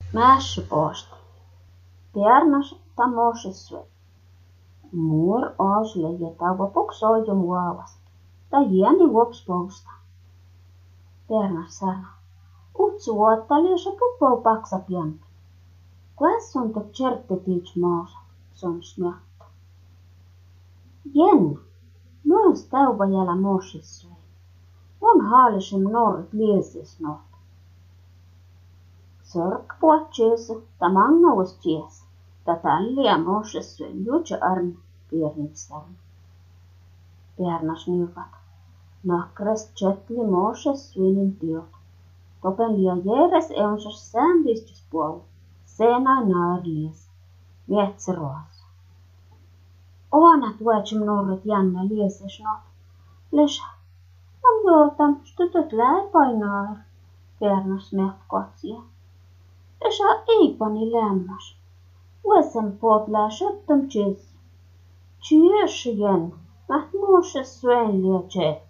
Mässyposta. Pernas ta mosesue. Muur osle ja tauva puksoidu muovas. Ta jieni vuopsposta. Pernas sana. Utsu ottali se pupou paksa pianti. Kuas on te tjerte tiits maasa, son smjahta. Jen, myös tauva jälä mosesue. On haalisem norrit lieses not. Sörk puotsees, ta mangauas ties, ta tallia mosesuen jutsa arm piernitsarm. Pernas nykat. Nahkres tjetli mosesuinin tiot. Topen lia jeres eonsas säänvistyspuolu. Sena naarlies. Vietseroas. Oana tuetsum norrit jännä lieses not. Lesä. On jortam stutot läipainaar. Pernas meht kotsia. Lesä ei pani lämmas. Uesen pot lää söttöm tjes. Tjös jen. Mäht moses suen lia tjet.